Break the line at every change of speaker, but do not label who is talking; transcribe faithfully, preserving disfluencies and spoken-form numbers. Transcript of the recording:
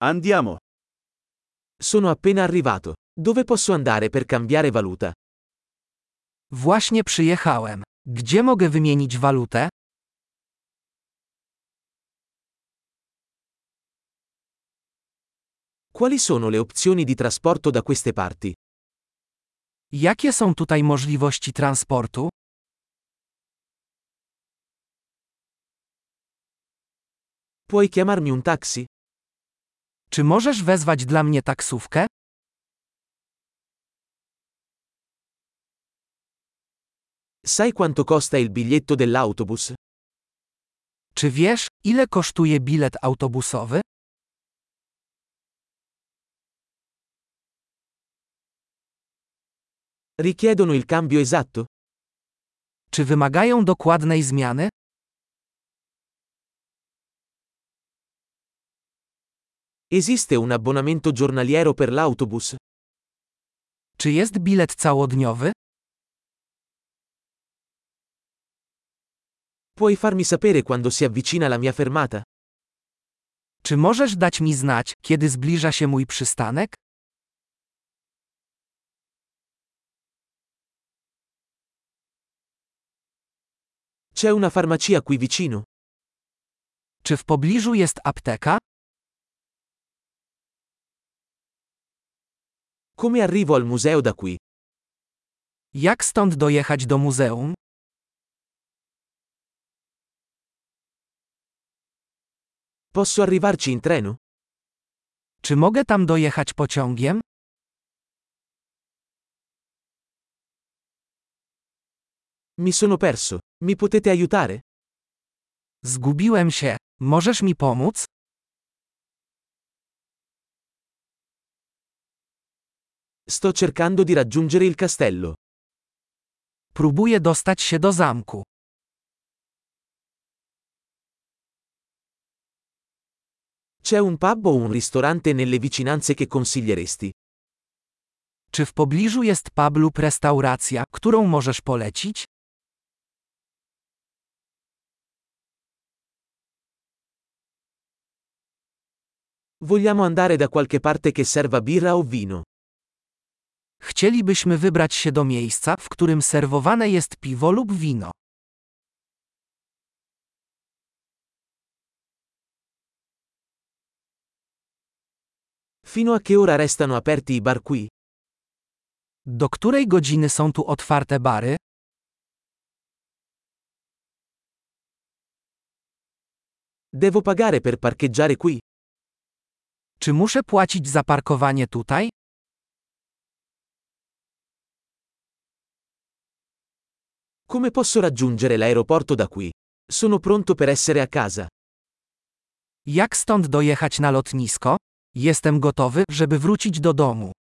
Andiamo.
Sono appena arrivato. Dove posso andare per cambiare valuta?
Właśnie przyjechałem. Gdzie mogę wymienić walutę?
Quali sono le opzioni di trasporto da queste parti?
Jakie są tutaj możliwości transportu?
Puoi chiamarmi un taxi?
Czy możesz wezwać dla mnie taksówkę?
Sai quanto costa il biglietto dell'autobus?
Czy wiesz, ile kosztuje bilet autobusowy?
Richiedono il cambio esatto?
Czy wymagają dokładnej zmiany?
Esiste un abbonamento giornaliero per l'autobus?
Czy jest bilet całodniowy?
Puoi farmi sapere quando si avvicina la mia fermata?
Czy możesz dać mi znać, kiedy zbliża się mój przystanek?
C'è una farmacia qui vicino?
Czy w pobliżu jest apteka?
Come arrivo al museo da qui?
Jak stąd dojechać do muzeum?
Posso arrivarci in treno?
Czy mogę tam dojechać pociągiem?
Mi sono perso. Mi potete aiutare?
Zgubiłem się. Możesz mi pomóc?
Sto cercando di raggiungere il castello.
Próbuję dostać się do zamku.
C'è un pub o un ristorante nelle vicinanze che consiglieresti?
Czy w pobliżu jest pub lub restauracja, którą możesz polecić?
Vogliamo andare da qualche parte che serva birra o vino.
Chcielibyśmy wybrać się do miejsca, w którym serwowane jest piwo lub wino.
Fino a che ora restano aperti i bar qui?
Do której godziny są tu otwarte bary?
Devo pagare per parcheggiare qui?
Czy muszę płacić za parkowanie tutaj?
Come posso raggiungere l'aeroporto da qui? Sono pronto per essere a casa.
Jak stąd dojechać na lotnisko? Jestem gotowy, żeby wrócić do domu.